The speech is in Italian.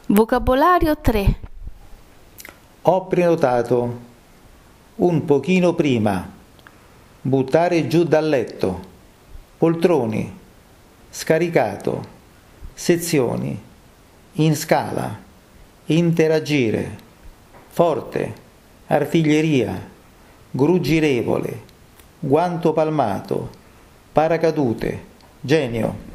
Vocabolario 3. Ho prenotato. Un pochino prima. Buttare giù dal letto. Poltroni. Scaricato. Sezioni. In scala. Interagire. Forte. Artiglieria. Gruggirevole. Guanto palmato. Paracadute. Genio.